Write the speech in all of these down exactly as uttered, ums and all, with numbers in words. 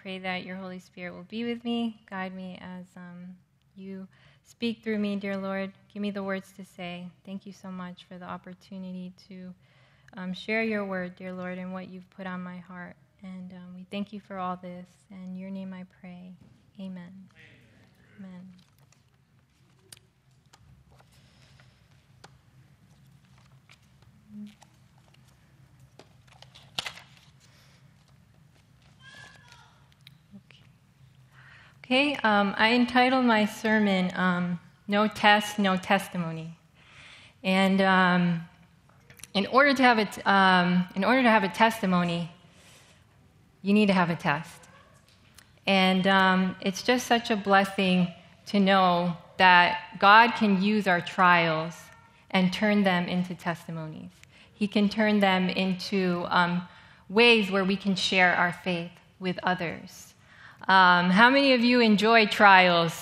pray that your Holy Spirit will be with me, guide me as um, you speak through me, dear Lord. Give me the words to say. Thank you so much for the opportunity to um, share your word, dear Lord, and what you've put on my heart. And um, we thank you for all this. In your name I pray. Amen. Amen. Okay, um, I entitled my sermon, um, No Test, No Testimony. And um, in order to have a, t- um, in order to have a testimony, you need to have a test. And um, it's just such a blessing to know that God can use our trials and turn them into testimonies. He can turn them into um, ways where we can share our faith with others. Um, how many of you enjoy trials?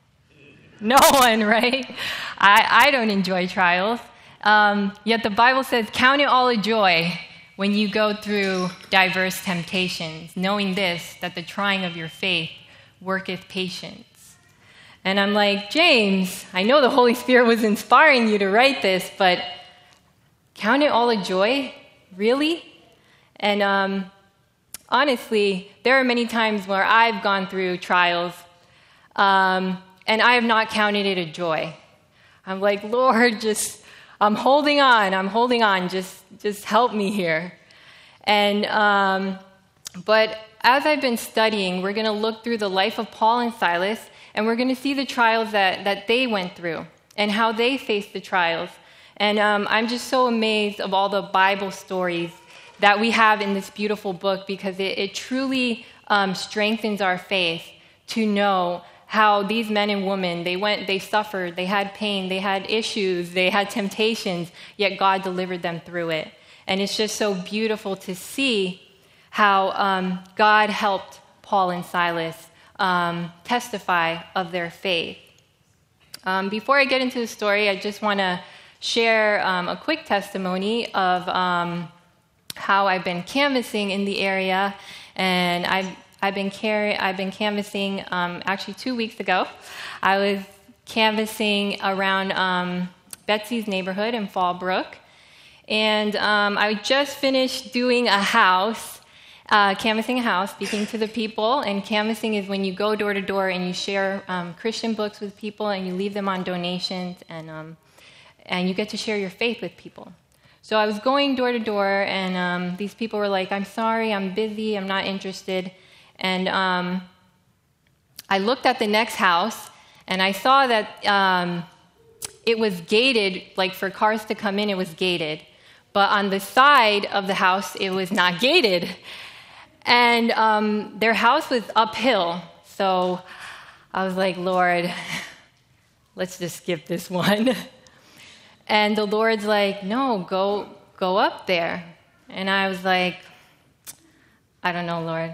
No one, right? I, I don't enjoy trials. Um, yet the Bible says, count it all a joy when you go through diverse temptations, knowing this, that the trying of your faith worketh patience. And I'm like, James, I know the Holy Spirit was inspiring you to write this, but count it all a joy? Really? And um, honestly, there are many times where I've gone through trials, um, and I have not counted it a joy. I'm like, Lord, just, I'm holding on, I'm holding on, just, just help me here. And, um, but as I've been studying, we're going to look through the life of Paul and Silas, and we're going to see the trials that, that they went through and how they faced the trials. And um, I'm just so amazed of all the Bible stories that we have in this beautiful book, because it, it truly um, strengthens our faith to know how these men and women, they went, they suffered, they had pain, they had issues, they had temptations, yet God delivered them through it. And it's just so beautiful to see how um, God helped Paul and Silas um, testify of their faith. Um, before I get into the story, I just want to share um, a quick testimony of um, how I've been canvassing in the area, and I've I've been carry, I've been canvassing um, actually two weeks ago. I was canvassing around um, Betsy's neighborhood in Fallbrook, and um, I just finished doing a house, uh, canvassing a house, speaking to the people. And canvassing is when you go door to door and you share um, Christian books with people, and you leave them on donations, and um, and you get to share your faith with people. So I was going door to door, and um, these people were like, I'm sorry, I'm busy, I'm not interested. And um, I looked at the next house, and I saw that um, it was gated, like for cars to come in, it was gated. But on the side of the house, it was not gated. And um, their house was uphill. So I was like, Lord, let's just skip this one. And the Lord's like, no, go go up there. And I was like, I don't know, Lord.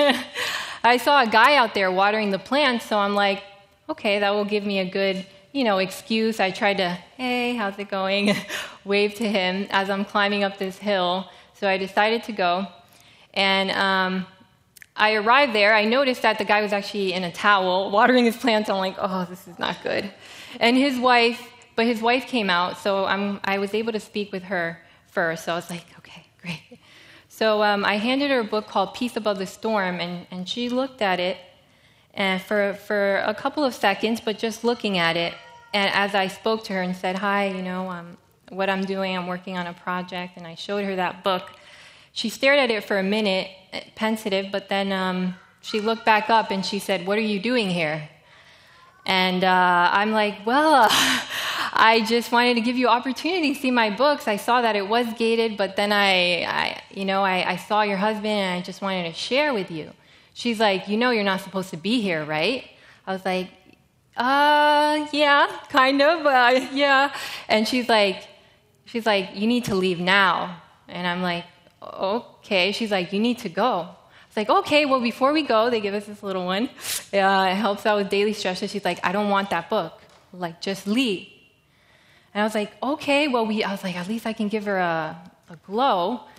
I saw a guy out there watering the plants, so I'm like, okay, that will give me a good, you know, excuse. I tried to, hey, how's it going? Wave to him as I'm climbing up this hill. So I decided to go. And um, I arrived there. I noticed that the guy was actually in a towel watering his plants. I'm like, oh, this is not good. And his wife, But his wife came out, so I'm, I was able to speak with her first. So I was like, okay, great. So um, I handed her a book called Peace Above the Storm, and, and she looked at it and for, for a couple of seconds, but just looking at it. And as I spoke to her and said, hi, you know, um, what I'm doing, I'm working on a project, and I showed her that book. She stared at it for a minute, pensive, but then um, she looked back up and she said, what are you doing here? And uh, I'm like, well, uh, I just wanted to give you opportunity to see my books. I saw that it was gated, but then I, I you know, I, I saw your husband, and I just wanted to share with you. She's like, you know you're not supposed to be here, right? I was like, uh, yeah, kind of, uh, yeah. And she's like, she's like, you need to leave now. And I'm like, okay. She's like, you need to go. It's like, okay, well, before we go, they give us this little one. Uh, it helps out with daily stresses. She's like, I don't want that book. Like, just leave. And I was like, okay, well, we. I was like, at least I can give her a, a glow.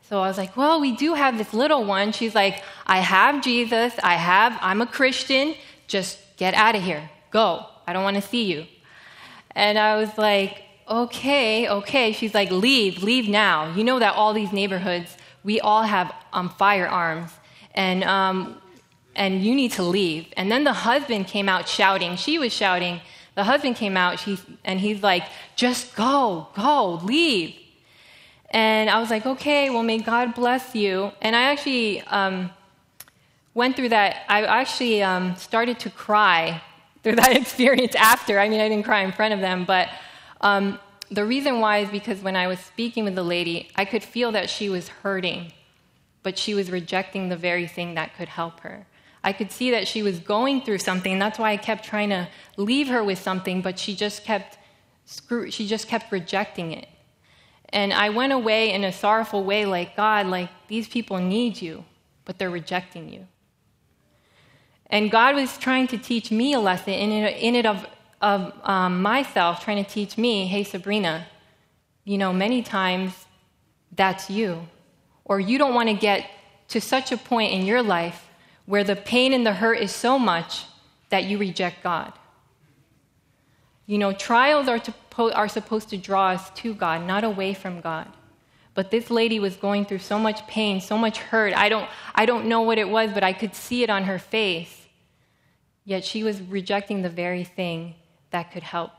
So I was like, well, we do have this little one. She's like, I have Jesus. I have, I'm a Christian. Just get out of here. Go. I don't want to see you. And I was like, okay, okay. She's like, leave, leave now. You know that all these neighborhoods, we all have um, firearms. And um, and you need to leave. And then the husband came out shouting. She was shouting. The husband came out, she, and he's like, just go, go, leave. And I was like, okay, well, may God bless you. And I actually um, went through that. I actually um, started to cry through that experience after. I mean, I didn't cry in front of them, but um, the reason why is because when I was speaking with the lady, I could feel that she was hurting, but she was rejecting the very thing that could help her. I could see that she was going through something. That's why I kept trying to leave her with something, but she just kept screw- she just kept rejecting it. And I went away in a sorrowful way, like, God, like, these people need you, but they're rejecting you. And God was trying to teach me a lesson in it, in it of, of um, myself, trying to teach me, hey, Sabrina, you know, many times that's you. Or you don't want to get to such a point in your life where the pain and the hurt is so much that you reject God. You know, trials are, to, are supposed to draw us to God, not away from God. But this lady was going through so much pain, so much hurt. I don't, I don't know what it was, but I could see it on her face. Yet she was rejecting the very thing that could help.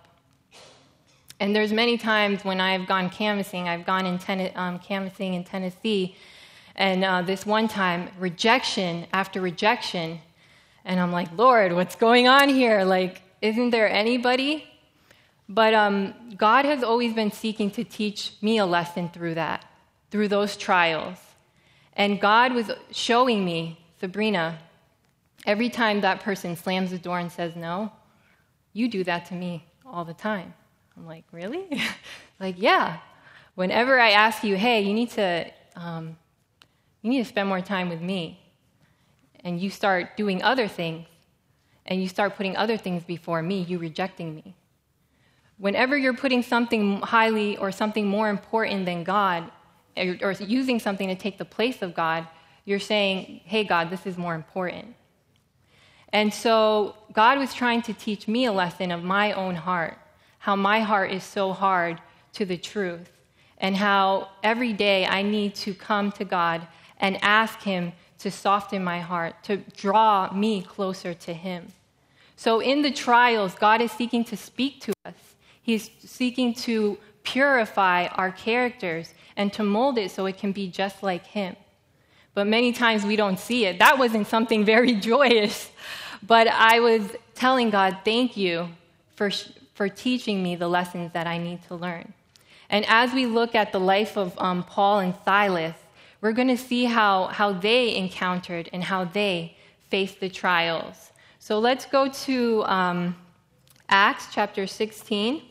And there's many times when I've gone canvassing, I've gone in ten, um, canvassing in Tennessee, and uh, this one time, rejection after rejection, and I'm like, Lord, what's going on here? Like, isn't there anybody? But um, God has always been seeking to teach me a lesson through that, through those trials. And God was showing me, Sabrina, every time that person slams the door and says no, you do that to me all the time. I'm like, really? Like, yeah. Whenever I ask you, hey, you need to, um, you need to spend more time with me, and you start doing other things, and you start putting other things before me, you rejecting me. Whenever you're putting something highly or something more important than God, or, or using something to take the place of God, you're saying, hey, God, this is more important. And so God was trying to teach me a lesson of my own heart, how my heart is so hard to the truth, and how every day I need to come to God and ask Him to soften my heart, to draw me closer to Him. So in the trials, God is seeking to speak to us. He's seeking to purify our characters and to mold it so it can be just like Him. But many times we don't see it. That wasn't something very joyous. But I was telling God, thank you for, for teaching me the lessons that I need to learn. And as we look at the life of um, Paul and Silas, we're going to see how, how they encountered and how they faced the trials. So let's go to um, Acts chapter sixteen.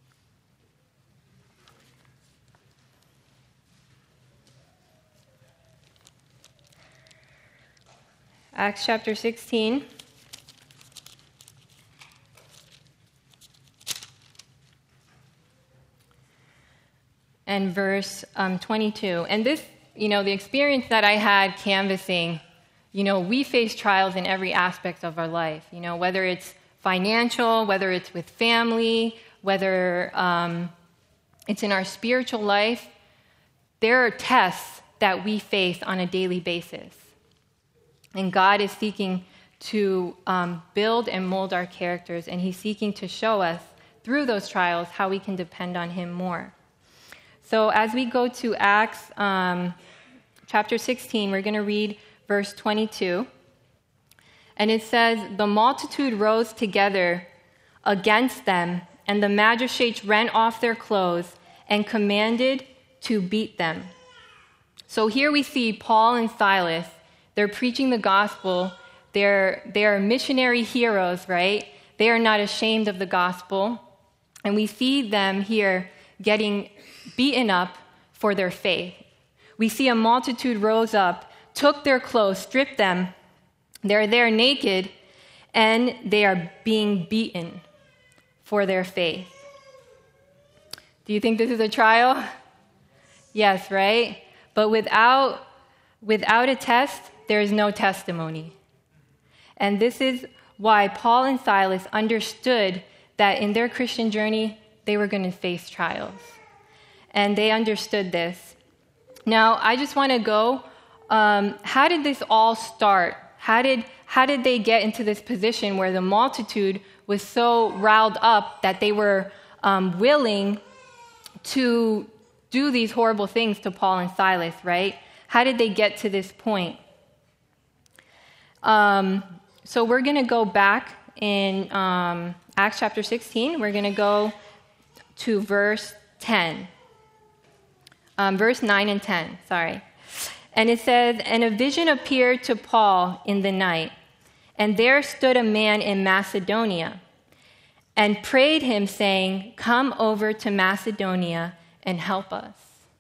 Acts chapter sixteen. And verse um, twenty-two. And this, you know, the experience that I had canvassing, you know, we face trials in every aspect of our life, you know, whether it's financial, whether it's with family, whether um, it's in our spiritual life. There are tests that we face on a daily basis. And God is seeking to um, build and mold our characters, and He's seeking to show us through those trials how we can depend on Him more. So as we go to Acts um, chapter sixteen, we're going to read verse twenty-two. And it says, the multitude rose together against them, and the magistrates rent off their clothes and commanded to beat them. So here we see Paul and Silas. They're preaching the gospel. They're, they're missionary heroes, right? They are not ashamed of the gospel. And we see them here getting beaten up for their faith. We see a multitude rose up, took their clothes, stripped them. They're there naked, and they are being beaten for their faith. Do you think this is a trial? Yes, right? But But without, without a test, there is no testimony. And this is why Paul and Silas understood that in their Christian journey, they were going to face trials. And they understood this. Now, I just want to go, um, how did this all start? How did, how did they get into this position where the multitude was so riled up that they were um, willing to do these horrible things to Paul and Silas, right? How did they get to this point? Um, so we're going to go back in um, Acts chapter sixteen. We're going to go to verse ten. Um, verse nine and ten, sorry. And it says, "And a vision appeared to Paul in the night, and there stood a man in Macedonia, and prayed him, saying, 'Come over to Macedonia and help us.'"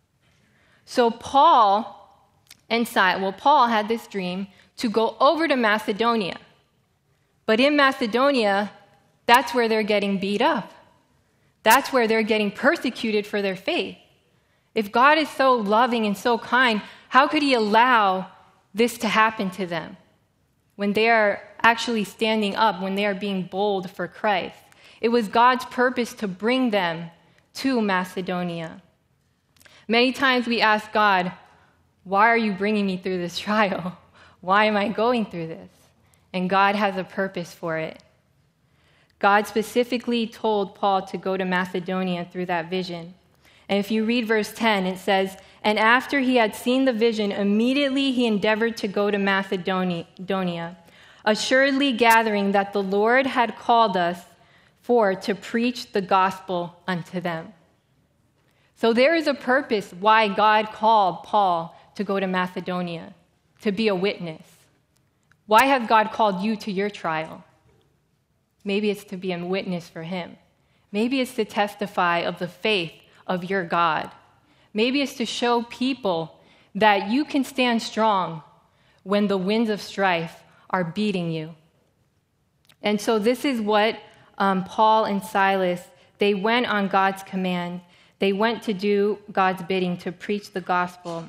So Paul and Silas, well, Paul had this dream to go over to Macedonia. But in Macedonia, that's where they're getting beat up. That's where they're getting persecuted for their faith. If God is so loving and so kind, how could he allow this to happen to them when they are actually standing up, when they are being bold for Christ? It was God's purpose to bring them to Macedonia. Many times we ask God, why are you bringing me through this trial? Why am I going through this? And God has a purpose for it. God specifically told Paul to go to Macedonia through that vision. And if you read verse ten, it says, "And after he had seen the vision, immediately he endeavored to go to Macedonia, assuredly gathering that the Lord had called us for to preach the gospel unto them." So there is a purpose why God called Paul to go to Macedonia, to be a witness. Why has God called you to your trial? Maybe it's to be a witness for him. Maybe it's to testify of the faith of your God. Maybe it's to show people that you can stand strong when the winds of strife are beating you. And so this is what um, Paul and Silas, they went on God's command. They went to do God's bidding, to preach the gospel.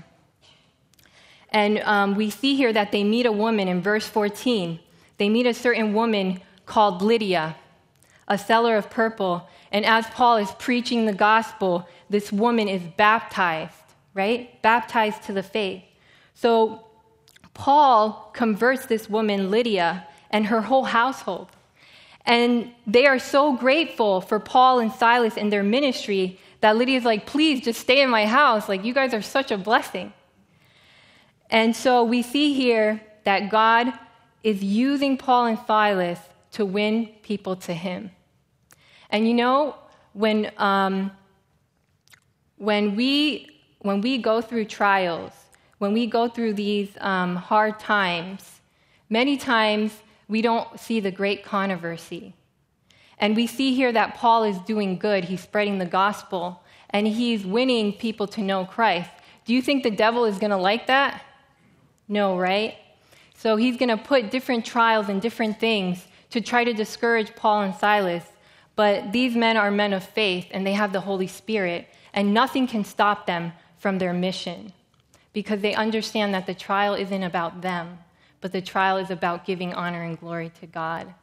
And um, we see here that they meet a woman in verse fourteen. They meet a certain woman called Lydia, a seller of purple. And as Paul is preaching the gospel, this woman is baptized, right? Baptized to the faith. So Paul converts this woman, Lydia, and her whole household. And they are so grateful for Paul and Silas and their ministry that Lydia's like, "Please just stay in my house. Like, you guys are such a blessing." And so we see here that God is using Paul and Silas to win people to him. And you know, when um, when we when we go through trials, when we go through these um, hard times, many times we don't see the great controversy. And we see here that Paul is doing good. He's spreading the gospel, and he's winning people to know Christ. Do you think the devil is going to like that? No, right? So he's going to put different trials and different things to try to discourage Paul and Silas. But these men are men of faith, and they have the Holy Spirit, and nothing can stop them from their mission because they understand that the trial isn't about them, but the trial is about giving honor and glory to God.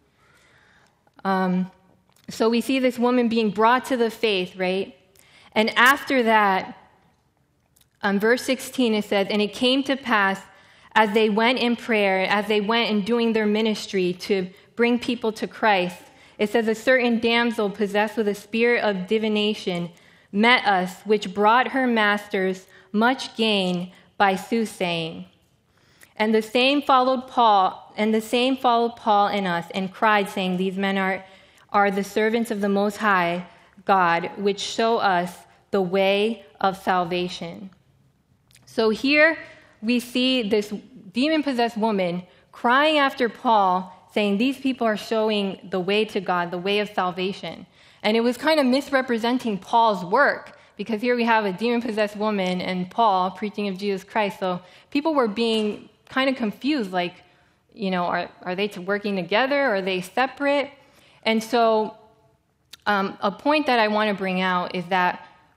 Um, so we see this woman being brought to the faith, right? And after that, um, verse sixteen, it says, "And it came to pass as they went in prayer, as they went in doing their ministry to bring people to Christ," it says, "a certain damsel possessed with a spirit of divination met us, which brought her masters much gain by soothsaying. And the same followed Paul, and the same followed Paul and us, and cried, saying, These men are, are the servants of the Most High God, which show us the way of salvation." So here we see this demon-possessed woman crying after Paul, saying these people are showing the way to God, the way of salvation. And it was kind of misrepresenting Paul's work, because here we have a demon-possessed woman and Paul preaching of Jesus Christ. So people were being kind of confused, like, you know, are, are they working together? Are they separate? And so um, a point that I want to bring out is that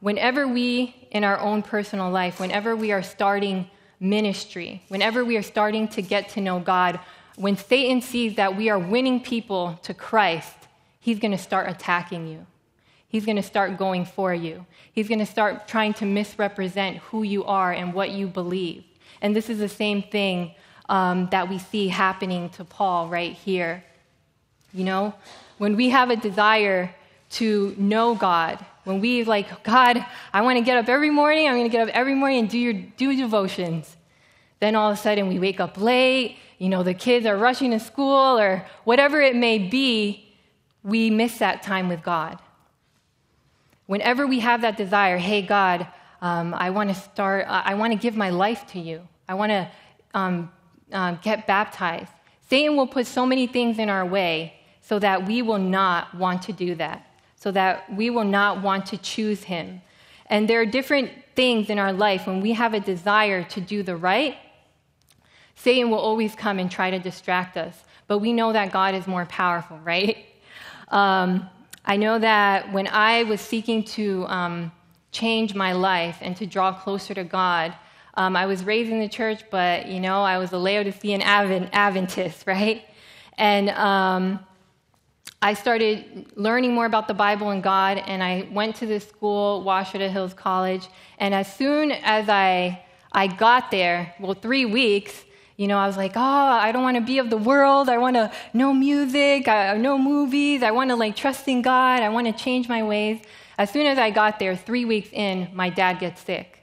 whenever we, in our own personal life, whenever we are starting ministry, whenever we are starting to get to know God, when Satan sees that we are winning people to Christ, he's going to start attacking you. He's going to start going for you. He's going to start trying to misrepresent who you are and what you believe. And this is the same thing um, that we see happening to Paul right here. You know, when we have a desire to know God, when we like, God, I want to get up every morning, I'm going to get up every morning and do your do devotions. Then all of a sudden we wake up late, you know, the kids are rushing to school or whatever it may be, we miss that time with God. Whenever we have that desire, hey, God, um, I want to start, I want to give my life to you. I want to um, uh, get baptized. Satan will put so many things in our way so that we will not want to do that, so that we will not want to choose him. And there are different things in our life when we have a desire to do the right, Satan will always come and try to distract us. But we know that God is more powerful, right? Um, I know that when I was seeking to um, change my life and to draw closer to God, um, I was raised in the church, but, you know, I was a Laodicean Adventist, right? And um, I started learning more about the Bible and God, and I went to this school, Washita Hills College, and as soon as I I got there, well, three weeks, you know, I was like, oh, I don't want to be of the world. I want to know music, I know movies. I want to, like, trust in God. I want to change my ways. As soon as I got there, three weeks in, my dad gets sick.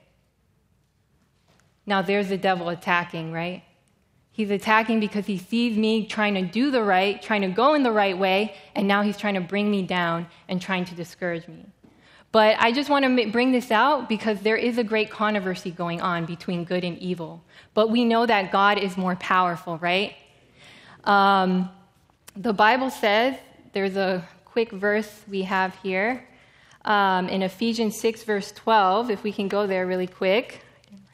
Now, there's the devil attacking, right? He's attacking because he sees me trying to do the right, trying to go in the right way, and now he's trying to bring me down and trying to discourage me. But I just want to bring this out because there is a great controversy going on between good and evil. But we know that God is more powerful, right? Um, the Bible says, there's a quick verse we have here um, in Ephesians six, verse twelve, if we can go there really quick.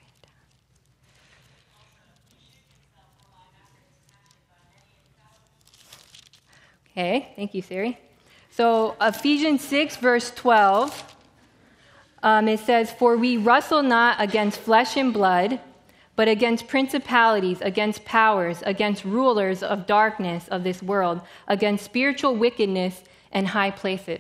Okay, thank you, Siri. So Ephesians six, verse twelve, um, it says, "For we wrestle not against flesh and blood, but against principalities, against powers, against rulers of darkness of this world, against spiritual wickedness in high places."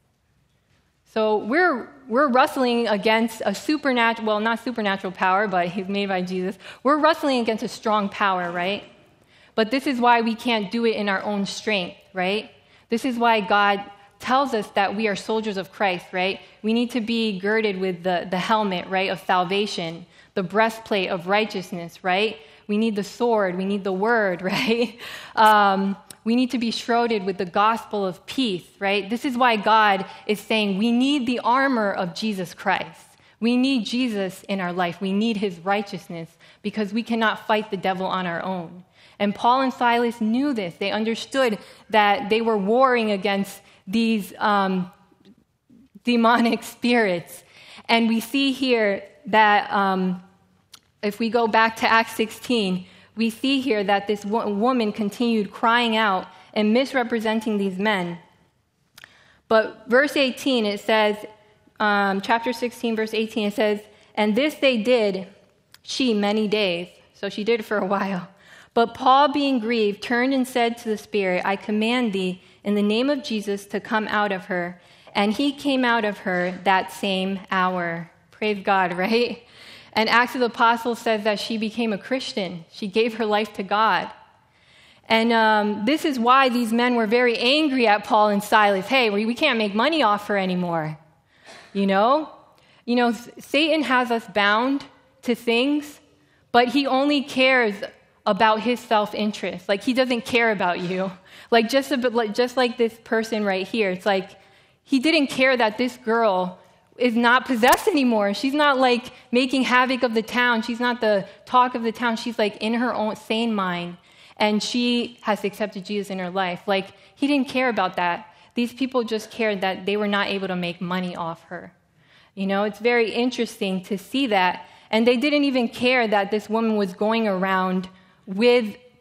So we're we're wrestling against a supernatural, well, not supernatural power, but he's made by Jesus. We're wrestling against a strong power, right? But this is why we can't do it in our own strength, right? This is why God tells us that we are soldiers of Christ, right? We need to be girded with the, the helmet, right, of salvation, the breastplate of righteousness, right? We need the sword. We need the word, right? Um, we need to be shrouded with the gospel of peace, right? This is why God is saying we need the armor of Jesus Christ. We need Jesus in our life. We need his righteousness because we cannot fight the devil on our own. And Paul and Silas knew this. They understood that they were warring against these um, demonic spirits. And we see here that um, if we go back to Acts sixteen, we see here that this wo- woman continued crying out and misrepresenting these men. But verse eighteen, it says, um, chapter sixteen, verse eighteen, it says, "And this they did, she many days." So she did it for a while. "But Paul, being grieved, turned and said to the spirit, I command thee in the name of Jesus to come out of her. And he came out of her that same hour." Praise God, right? And Acts of the Apostles says that she became a Christian. She gave her life to God. And um, this is why these men were very angry at Paul and Silas. Hey, we, we can't make money off her anymore. You know? You know, Satan has us bound to things, but he only cares about his self-interest. Like, he doesn't care about you. Like, just a bit, like, just like this person right here. It's like, he didn't care that this girl is not possessed anymore. She's not, like, making havoc of the town. She's not the talk of the town. She's, like, in her own sane mind, and she has accepted Jesus in her life. Like, he didn't care about that. These people just cared that they were not able to make money off her. You know, it's very interesting to see that. And they didn't even care that this woman was going around with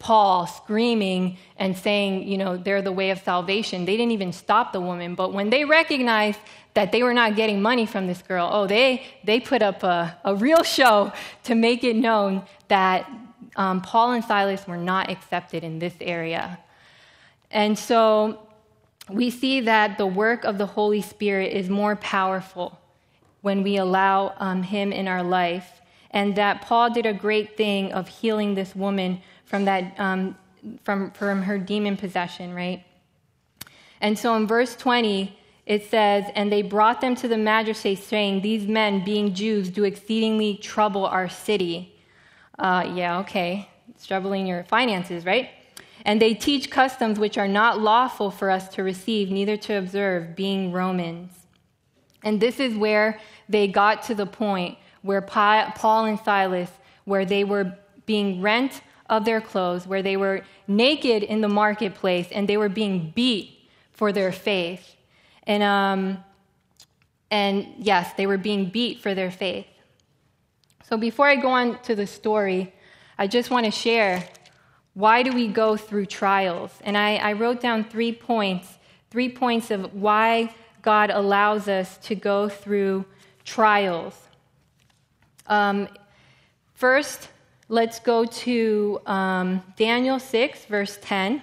Paul screaming and saying, you know, they're the way of salvation. They didn't even stop the woman. But when they recognized that they were not getting money from this girl, oh, they, they put up a, a real show to make it known that um, Paul and Silas were not accepted in this area. And so we see that the work of the Holy Spirit is more powerful when we allow um, him in our life, and that Paul did a great thing of healing this woman from that um, from, from her demon possession, right? And so in verse twenty, it says, "And they brought them to the magistrates, saying, 'These men, being Jews, do exceedingly trouble our city.'" Uh, yeah, okay. It's troubling your finances, right? "And they teach customs which are not lawful for us to receive, neither to observe, being Romans." And this is where they got to the point where Paul and Silas, where they were being rent of their clothes, where they were naked in the marketplace, and they were being beat for their faith. And, um, and yes, they were being beat for their faith. So before I go on to the story, I just want to share, why do we go through trials? And I, I wrote down three points, three points of why God allows us to go through trials. Um, first, let's go to um, Daniel six, verse ten.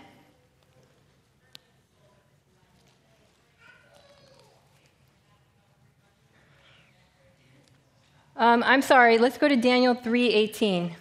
Um, I'm sorry, let's go to Daniel three eighteen.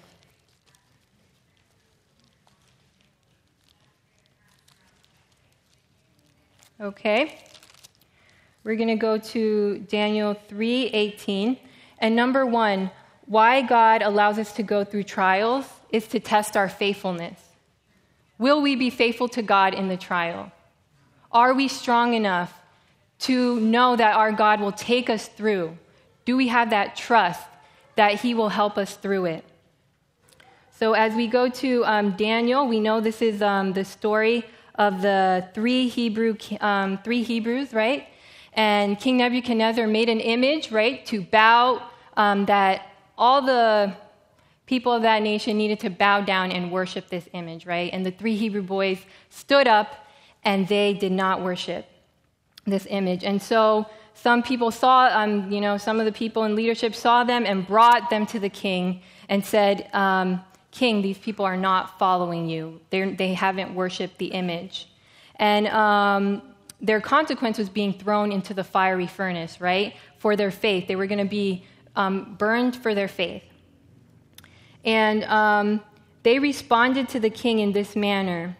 Okay. We're going to go to Daniel three eighteen. And number one, why God allows us to go through trials is to test our faithfulness. Will we be faithful to God in the trial? Are we strong enough to know that our God will take us through? Do we have that trust that he will help us through it? So as we go to um, Daniel, we know this is um, the story of the three Hebrew um, three Hebrews, right? And King Nebuchadnezzar made an image, right, to bow, um, that all the people of that nation needed to bow down and worship this image, right? And the three Hebrew boys stood up, and they did not worship this image. And so some people saw, um, you know, some of the people in leadership saw them and brought them to the king and said, um, "King, these people are not following you. They're, they haven't worshipped the image." And um, their consequence was being thrown into the fiery furnace, right, for their faith. They were going to be um, burned for their faith. And um, they responded to the king in this manner.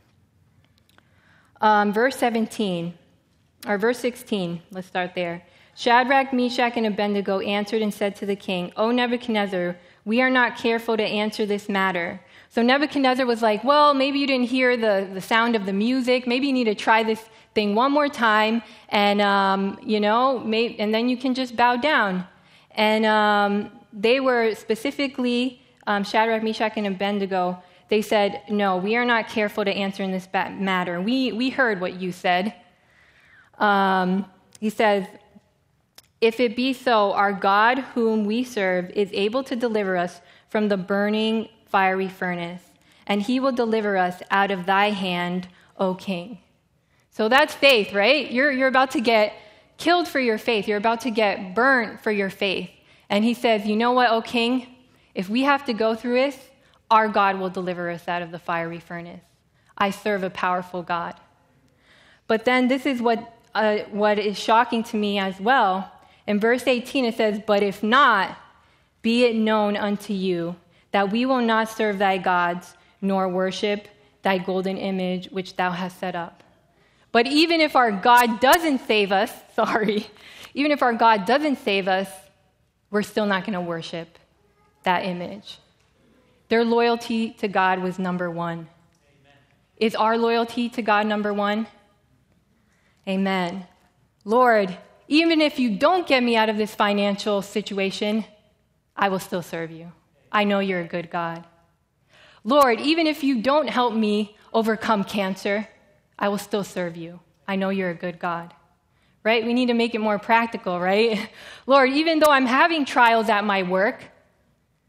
Um, verse seventeen, or verse sixteen, let's start there. "Shadrach, Meshach, and Abednego answered and said to the king, 'O Nebuchadnezzar, we are not careful to answer this matter.'" So Nebuchadnezzar was like, well, maybe you didn't hear the, the sound of the music. Maybe you need to try this thing one more time, and, um, you know, may, and then you can just bow down. And um, they were specifically, um, Shadrach, Meshach, and Abednego, they said, "No, we are not careful to answer in this matter. We, we heard what you said." Um, he says, "If it be so, our God whom we serve is able to deliver us from the burning fiery furnace, and he will deliver us out of thy hand, O king." So that's faith, right? You're, you're about to get killed for your faith. You're about to get burnt for your faith. And he says, "You know what, O king? If we have to go through this, our God will deliver us out of the fiery furnace. I serve a powerful God." But then this is what, uh, what is shocking to me as well. In verse eighteen, it says, "But if not, be it known unto you that we will not serve thy gods, nor worship thy golden image which thou hast set up." But even if our God doesn't save us, sorry, even if our God doesn't save us, we're still not going to worship that image. Their loyalty to God was number one. Amen. Is our loyalty to God number one? Amen. Lord, even if you don't get me out of this financial situation, I will still serve you. I know you're a good God. Lord, even if you don't help me overcome cancer, I will still serve you. I know you're a good God. Right? We need to make it more practical, right? Lord, even though I'm having trials at my work,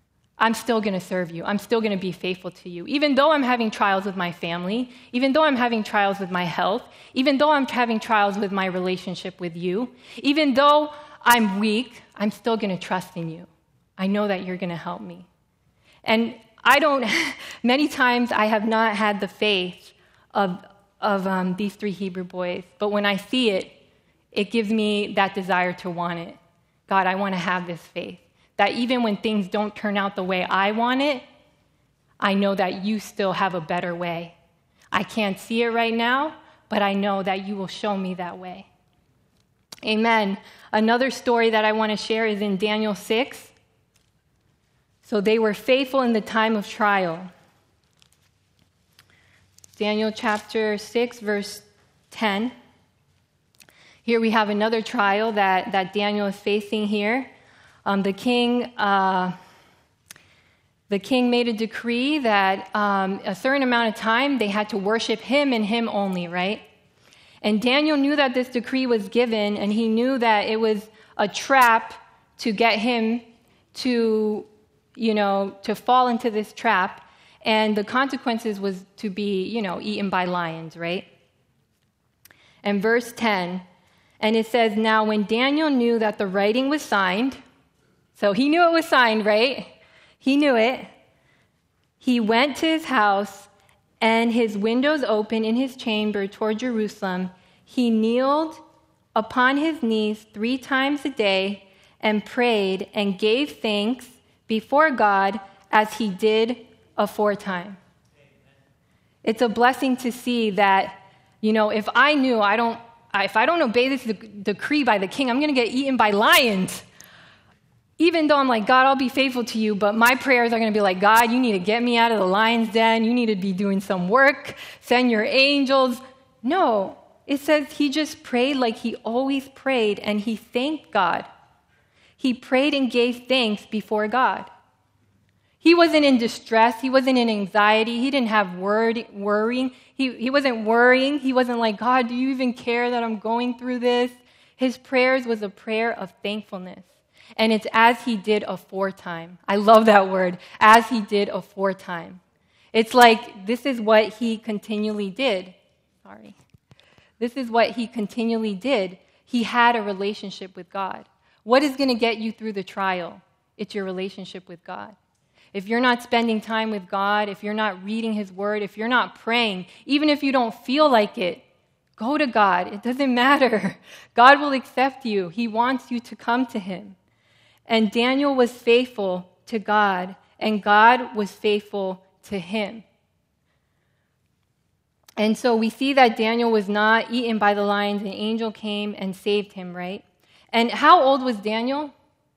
I'm still going to serve you. I'm still going to be faithful to you. Even though I'm having trials with my family, even though I'm having trials with my health, even though I'm having trials with my relationship with you, even though I'm weak, I'm still going to trust in you. I know that you're going to help me. And I don't, many times I have not had the faith of, of um, these three Hebrew boys, but when I see it, it gives me that desire to want it. God, I want to have this faith. That even when things don't turn out the way I want it, I know that you still have a better way. I can't see it right now, but I know that you will show me that way. Amen. Another story that I want to share is in Daniel six. So they were faithful in the time of trial. Daniel chapter six, verse ten. Here we have another trial that, that Daniel is facing here. Um, the king, uh, the king made a decree that um, a certain amount of time they had to worship him and him only, right? And Daniel knew that this decree was given, and he knew that it was a trap to get him to, you know, to fall into this trap. And the consequences was to be, you know, eaten by lions, right? And verse ten, and it says, now when Daniel knew that the writing was signed, so he knew it was signed, right? He knew it. He went to his house, and his windows open in his chamber toward Jerusalem. He kneeled upon his knees three times a day and prayed and gave thanks before God as he did aforetime. It's a blessing to see that, you know, if I knew I don't, if I don't obey this decree by the king, I'm going to get eaten by lions. Even though I'm like, God, I'll be faithful to you, but my prayers are going to be like, God, you need to get me out of the lion's den. You need to be doing some work. Send your angels. No, it says he just prayed like he always prayed, and he thanked God. He prayed and gave thanks before God. He wasn't in distress. He wasn't in anxiety. He didn't have word, worrying. He, he wasn't worrying. He wasn't like, God, do you even care that I'm going through this? His prayers was a prayer of thankfulness. And it's as he did aforetime. I love that word, as he did aforetime. It's like this is what he continually did. Sorry. This is what he continually did. He had a relationship with God. What is going to get you through the trial? It's your relationship with God. If you're not spending time with God, if you're not reading his word, if you're not praying, even if you don't feel like it, go to God. It doesn't matter. God will accept you. He wants you to come to him. And Daniel was faithful to God, and God was faithful to him. And so we see that Daniel was not eaten by the lions. An angel came and saved him, right? And how old was Daniel?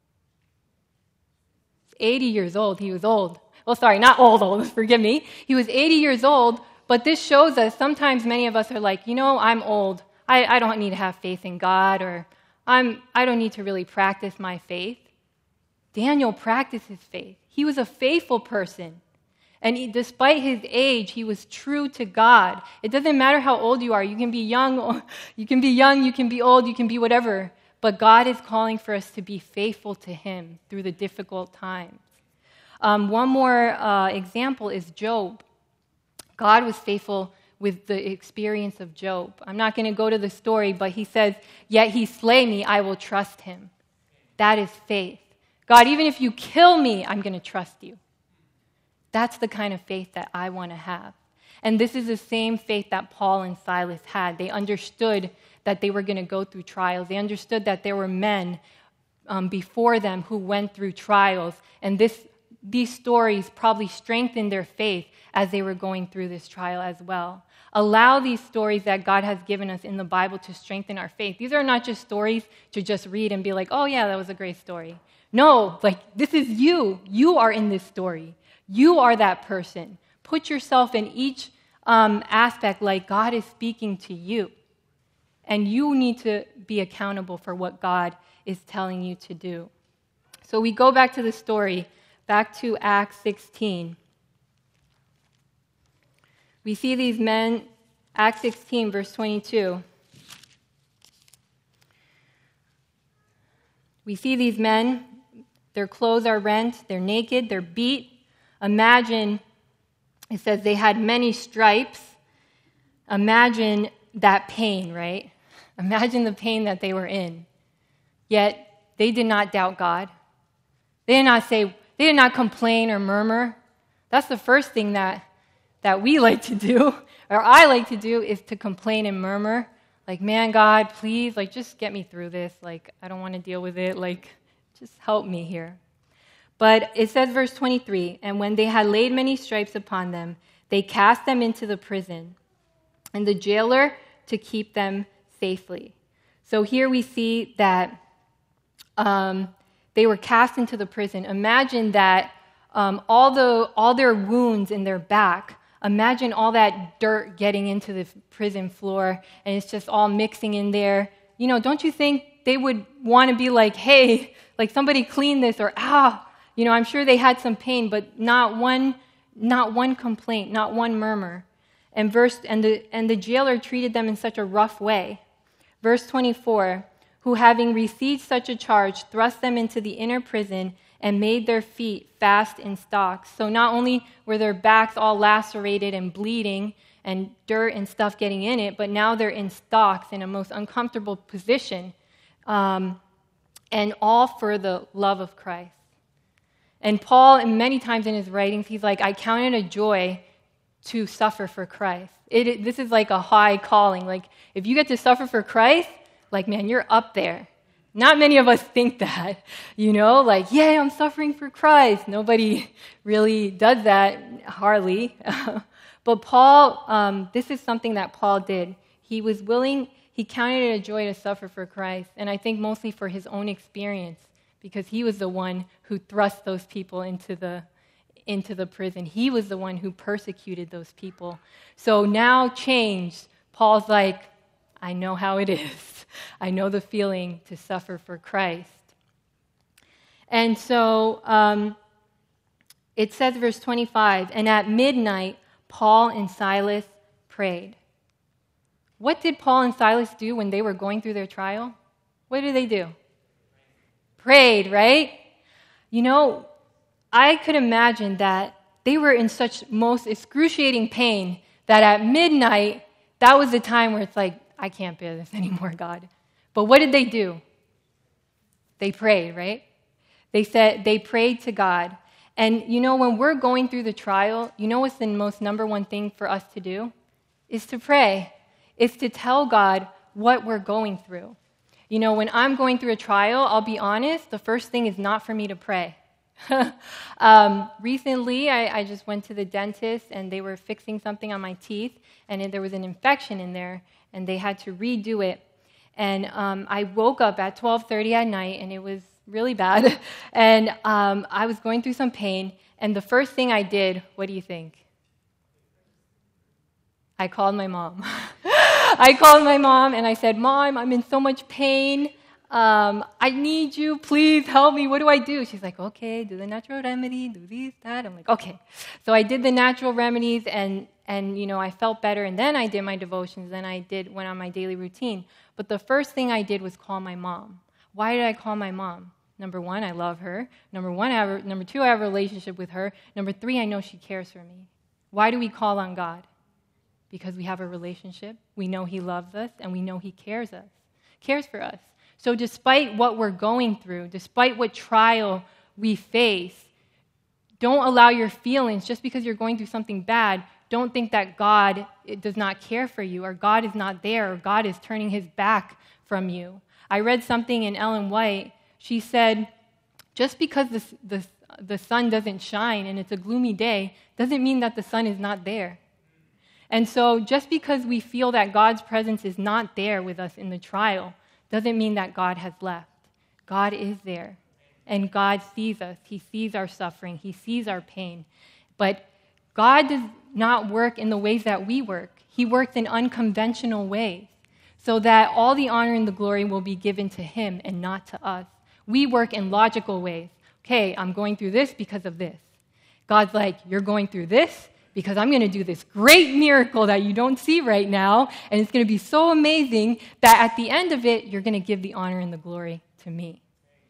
eighty years old. He was old. Well, sorry, not old, old, forgive me. He was eighty years old, but this shows us sometimes many of us are like, you know, I'm old. I, I don't need to have faith in God, or I'm, I don't need to really practice my faith. Daniel practiced his faith. He was a faithful person. And he, despite his age, he was true to God. It doesn't matter how old you are. You can be young, you can be young, you can be old, you can be whatever. But God is calling for us to be faithful to him through the difficult times. Um, one more uh, example is Job. God was faithful with the experience of Job. I'm not going to go to the story, but he says, yet he slay me, I will trust him. That is faith. God, even if you kill me, I'm going to trust you. That's the kind of faith that I want to have. And this is the same faith that Paul and Silas had. They understood that they were going to go through trials. They understood that there were men um, before them who went through trials. And this, these stories probably strengthened their faith as they were going through this trial as well. Allow these stories that God has given us in the Bible to strengthen our faith. These are not just stories to just read and be like, oh yeah, that was a great story. No, like this is you. You are in this story. You are that person. Put yourself in each um, aspect like God is speaking to you. And you need to be accountable for what God is telling you to do. So we go back to the story, back to Acts sixteen. We see these men, Acts sixteen, verse twenty-two. We see these men Their clothes are rent, they're naked, they're beat. Imagine, it says they had many stripes. Imagine that pain, right? Imagine the pain that they were in. Yet, they did not doubt God. They did not say, they did not complain or murmur. That's the first thing that, that we like to do, or I like to do, is to complain and murmur. Like, man, God, please, like, just get me through this. Like, I don't want to deal with it. Like, just help me here. But it says, verse twenty-three, and when they had laid many stripes upon them, they cast them into the prison, and the jailer to keep them safely. So here we see that um, they were cast into the prison. Imagine that um, all the all their wounds in their back, imagine all that dirt getting into the prison floor, and it's just all mixing in there. You know, don't you think they would want to be like, hey, like somebody clean this, or ah, you know, I'm sure they had some pain, but not one, not one complaint, not one murmur. And verse and the and the jailer treated them in such a rough way. Verse twenty-four, who having received such a charge, thrust them into the inner prison and made their feet fast in stocks. So not only were their backs all lacerated and bleeding and dirt and stuff getting in it, but now they're in stocks in a most uncomfortable position, um, and all for the love of Christ. And Paul, many times in his writings, he's like, I count it a joy to suffer for Christ. It, it, this is like a high calling. Like, if you get to suffer for Christ, like, man, you're up there. Not many of us think that, you know, like, yeah, I'm suffering for Christ. Nobody really does that, hardly. But Paul, um, this is something that Paul did. He was willing, he counted it a joy to suffer for Christ, and I think mostly for his own experience, because he was the one who thrust those people into the into the prison. He was the one who persecuted those people. So now changed, Paul's like, I know how it is. I know the feeling to suffer for Christ. And so um, it says, verse twenty-five, and at midnight, Paul and Silas prayed. What did Paul and Silas do when they were going through their trial? What did they do? Prayed, right? You know, I could imagine that they were in such most excruciating pain that at midnight, that was the time where it's like, I can't bear this anymore, God. But what did they do? They prayed, right? They said they prayed to God. And you know, when we're going through the trial, you know what's the most number one thing for us to do? Is to pray. Is to tell God what we're going through. You know, when I'm going through a trial, I'll be honest, the first thing is not for me to pray. um, recently, I, I just went to the dentist, and they were fixing something on my teeth, and there was an infection in there, and they had to redo it. And um, I woke up at twelve thirty at night, and it was really bad. and um, I was going through some pain, and the first thing I did, what do you think? I called my mom. I called my mom, and I said, Mom, I'm in so much pain. Um, I need you. Please help me. What do I do? She's like, okay, do the natural remedy, do this, that. I'm like, okay. So I did the natural remedies, and, and you know, I felt better, and then I did my devotions, then I did went on my daily routine. But the first thing I did was call my mom. Why did I call my mom? Number one, I love her. Number one, I have a, number two, I have a relationship with her. Number three, I know she cares for me. Why do we call on God? Because we have a relationship. We know He loves us, and we know He cares us, cares for us. So despite what we're going through, despite what trial we face, don't allow your feelings, just because you're going through something bad, don't think that God does not care for you, or God is not there, or God is turning His back from you. I read something in Ellen White. She said, just because the, the, the sun doesn't shine and it's a gloomy day, doesn't mean that the sun is not there. And so just because we feel that God's presence is not there with us in the trial, doesn't mean that God has left. God is there, and God sees us. He sees our suffering. He sees our pain. But God does not work in the ways that we work. He works in unconventional ways, so that all the honor and the glory will be given to Him and not to us. We work in logical ways. Okay, I'm going through this because of this. God's like, you're going through this because I'm going to do this great miracle that you don't see right now, and it's going to be so amazing that at the end of it, you're going to give the honor and the glory to me.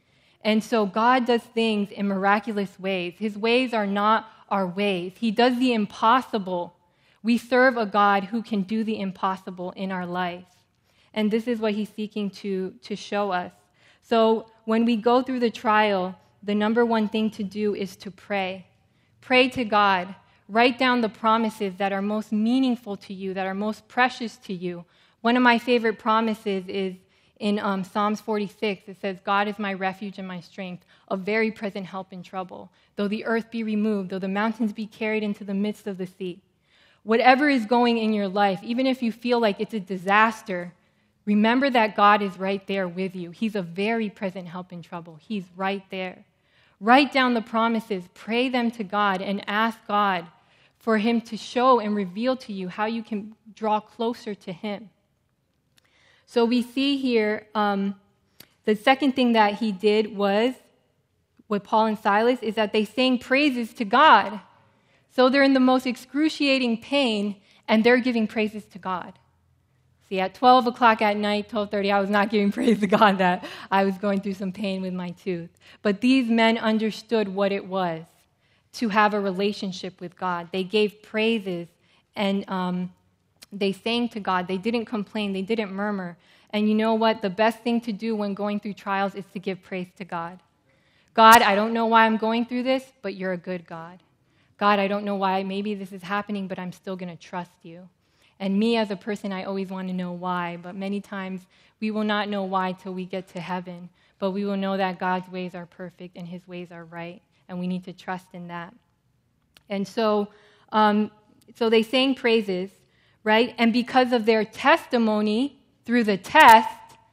And so God does things in miraculous ways. His ways are not our ways. He does the impossible. We serve a God who can do the impossible in our life. And this is what he's seeking to, to show us. So when we go through the trial, the number one thing to do is to pray. Pray to God. Write down the promises that are most meaningful to you, that are most precious to you. One of my favorite promises is in um, Psalms forty-six. It says, God is my refuge and my strength, a very present help in trouble. Though the earth be removed, though the mountains be carried into the midst of the sea. Whatever is going in your life, even if you feel like it's a disaster, remember that God is right there with you. He's a very present help in trouble. He's right there. Write down the promises, pray them to God, and ask God for him to show and reveal to you how you can draw closer to him. So we see here, um, the second thing that he did was, with Paul and Silas, is that they sang praises to God. So they're in the most excruciating pain, and they're giving praises to God. See, at twelve o'clock at night, twelve thirty, I was not giving praise to God that I was going through some pain with my tooth. But these men understood what it was to have a relationship with God. They gave praises, and um, they sang to God. They didn't complain. They didn't murmur. And you know what? The best thing to do when going through trials is to give praise to God. God, I don't know why I'm going through this, but you're a good God. God, I don't know why maybe this is happening, but I'm still going to trust you. And me as a person, I always want to know why, but many times we will not know why till we get to heaven, but we will know that God's ways are perfect and his ways are right, and we need to trust in that. And so, um, so they sang praises, right? And because of their testimony through the test,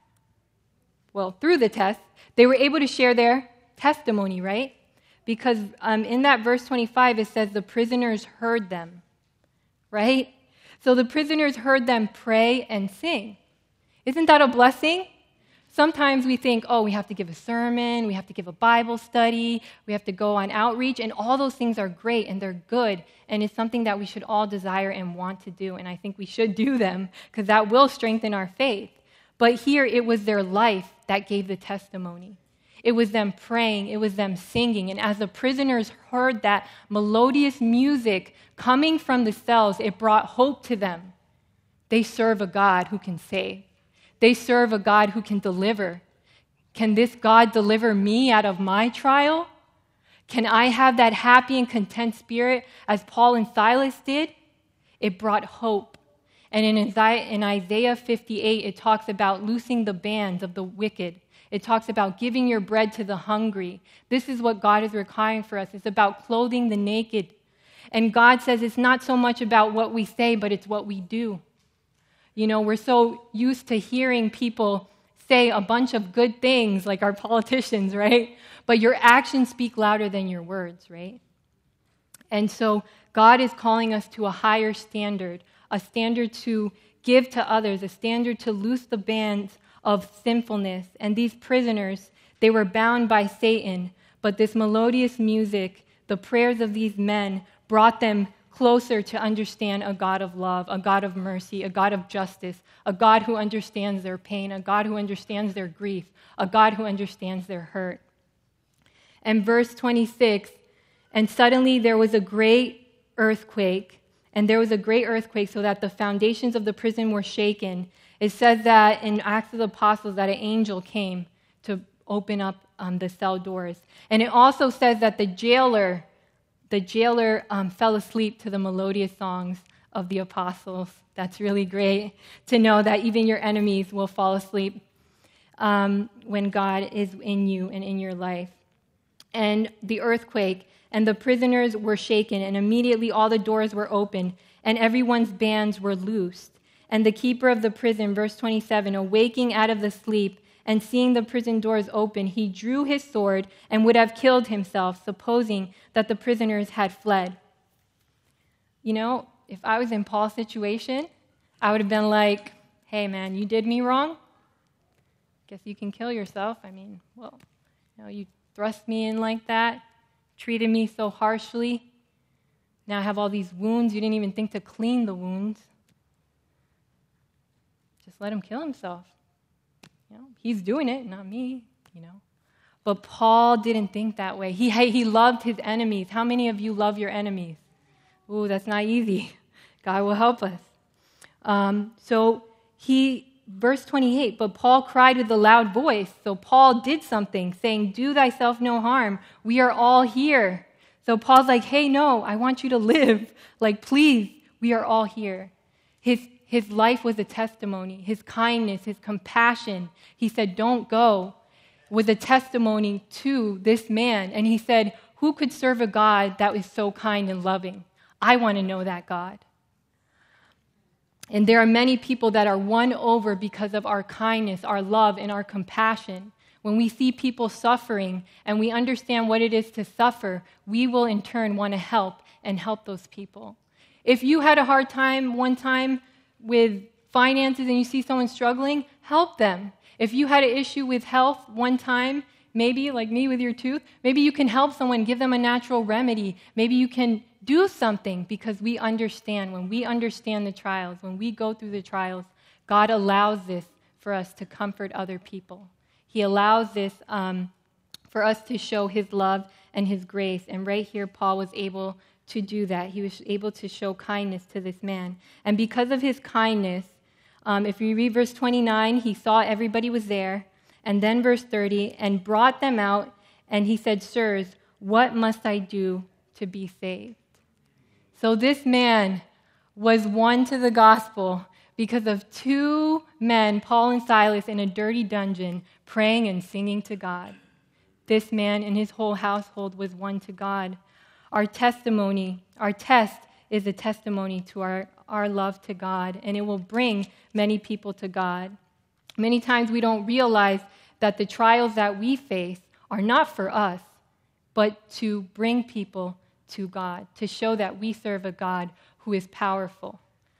well, through the test, they were able to share their testimony, right? Because um, in that verse twenty-five, it says the prisoners heard them, right? So the prisoners heard them pray and sing. Isn't that a blessing? Sometimes we think, oh, we have to give a sermon, we have to give a Bible study, we have to go on outreach, and all those things are great and they're good, and it's something that we should all desire and want to do, and I think we should do them because that will strengthen our faith. But here it was their life that gave the testimony. It was them praying, it was them singing, and as the prisoners heard that melodious music coming from the cells, it brought hope to them. They serve a God who can save. They serve a God who can deliver. Can this God deliver me out of my trial? Can I have that happy and content spirit as Paul and Silas did? It brought hope. And in Isaiah fifty-eight, it talks about loosing the bands of the wicked. It talks about giving your bread to the hungry. This is what God is requiring for us. It's about clothing the naked. And God says it's not so much about what we say, but it's what we do. You know, we're so used to hearing people say a bunch of good things, like our politicians, right? But your actions speak louder than your words, right? And so God is calling us to a higher standard, a standard to give to others, a standard to loose the bands of sinfulness. And these prisoners, they were bound by Satan, but this melodious music, the prayers of these men, brought them closer to understand a God of love, a God of mercy, a God of justice, a God who understands their pain, a God who understands their grief, a God who understands their hurt. And verse twenty-six, and suddenly there was a great earthquake, and there was a great earthquake so that the foundations of the prison were shaken. It says that in Acts of the Apostles that an angel came to open up um, the cell doors. And it also says that the jailer The jailer um, fell asleep to the melodious songs of the apostles. That's really great to know that even your enemies will fall asleep um, when God is in you and in your life. And the earthquake, and the prisoners were shaken, and immediately all the doors were opened, and everyone's bands were loosed. And the keeper of the prison, verse twenty-seven, awaking out of the sleep, and seeing the prison doors open, he drew his sword and would have killed himself, supposing that the prisoners had fled. You know, if I was in Paul's situation, I would have been like, hey, man, you did me wrong. Guess you can kill yourself. I mean, well, you know, you thrust me in like that, treated me so harshly. Now I have all these wounds. You didn't even think to clean the wounds. Just let him kill himself. You know, he's doing it, not me, you know. But Paul didn't think that way. He, he loved his enemies. How many of you love your enemies? Ooh, that's not easy. God will help us. Um, so he, verse twenty-eight, but Paul cried with a loud voice. So Paul did something, saying, do thyself no harm. We are all here. So Paul's like, hey, no, I want you to live. Like, please, we are all here. His, his life was a testimony. His kindness, his compassion. He said, don't go, was a testimony to this man. And he said, who could serve a God that is so kind and loving? I want to know that God. And there are many people that are won over because of our kindness, our love, and our compassion. When we see people suffering and we understand what it is to suffer, we will in turn want to help and help those people. If you had a hard time one time with finances and you see someone struggling, help them. If you had an issue with health one time, maybe like me with your tooth, maybe you can help someone, give them a natural remedy. Maybe you can do something because we understand. When we understand the trials, when we go through the trials, God allows this for us to comfort other people. He allows this um, for us to show his love and his grace. And right here, Paul was able to do that. He was able to show kindness to this man. And because of his kindness, um, if you read verse twenty-nine, he saw everybody was there. And then verse thirty, and brought them out, and he said, sirs, what must I do to be saved? So this man was won to the gospel because of two men, Paul and Silas, in a dirty dungeon, praying and singing to God. This man and his whole household was won to God. Our testimony, our test is a testimony to our, our love to God, and it will bring many people to God. Many times we don't realize that the trials that we face are not for us, but to bring people to God, to show that we serve a God who is powerful.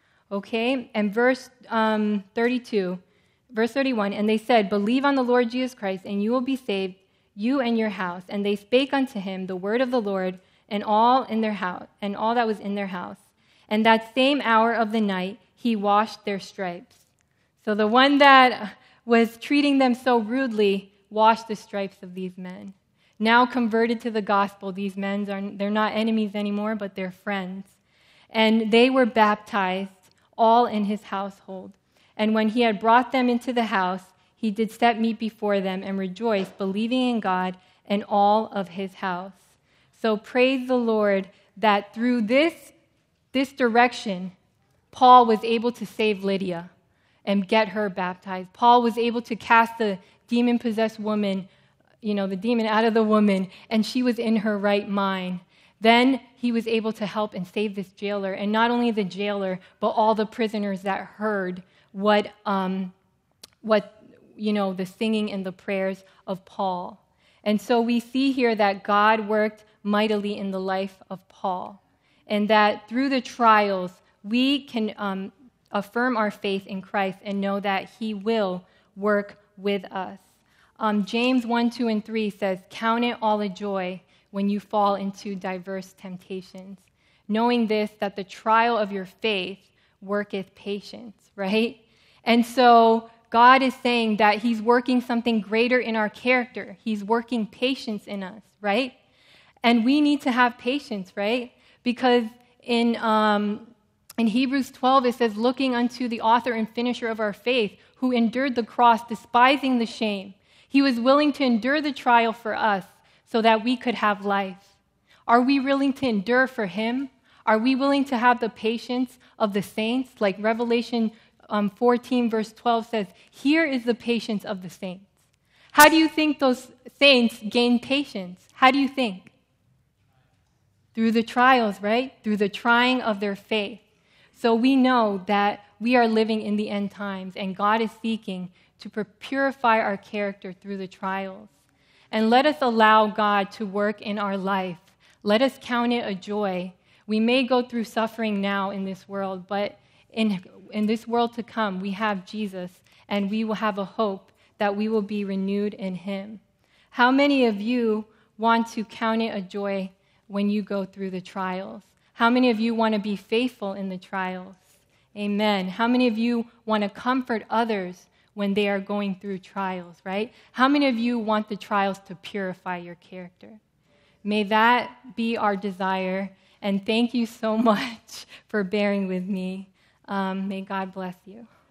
Okay? And verse um, thirty-two, verse thirty-one, and they said, believe on the Lord Jesus Christ, and you will be saved, you and your house. And they spake unto him the word of the Lord, and all in their house, and all that was in their house. And that same hour of the night he washed their stripes. So the one that was treating them so rudely washed the stripes of these men. Now converted to the gospel, these men are they're not enemies anymore, but they're friends. And they were baptized, all in his household. And when he had brought them into the house, he did set meat before them and rejoiced, believing in God and all of his house. So praise the Lord that through this, this direction, Paul was able to save Lydia and get her baptized. Paul was able to cast the demon-possessed woman, you know, the demon out of the woman, and she was in her right mind. Then he was able to help and save this jailer, and not only the jailer, but all the prisoners that heard what, um, what you know, the singing and the prayers of Paul. And so we see here that God worked mightily in the life of Paul, and that through the trials, we can um, affirm our faith in Christ and know that he will work with us. Um, James one, two, and three says, count it all a joy when you fall into diverse temptations, knowing this, that the trial of your faith worketh patience, right? And so God is saying that he's working something greater in our character. He's working patience in us, right? And we need to have patience, right? Because in um, in Hebrews twelve, it says, looking unto the author and finisher of our faith, who endured the cross, despising the shame. He was willing to endure the trial for us so that we could have life. Are we willing to endure for him? Are we willing to have the patience of the saints? Like Revelation um, fourteen, verse twelve says, here is the patience of the saints. How do you think those saints gain patience? How do you think? Through the trials, right? Through the trying of their faith. So we know that we are living in the end times, and God is seeking to purify our character through the trials. And let us allow God to work in our life. Let us count it a joy. We may go through suffering now in this world, but in, in this world to come, we have Jesus, and we will have a hope that we will be renewed in him. How many of you want to count it a joy when you go through the trials? How many of you want to be faithful in the trials? Amen. How many of you want to comfort others when they are going through trials, right? How many of you want the trials to purify your character? May that be our desire. And thank you so much for bearing with me. Um, may God bless you.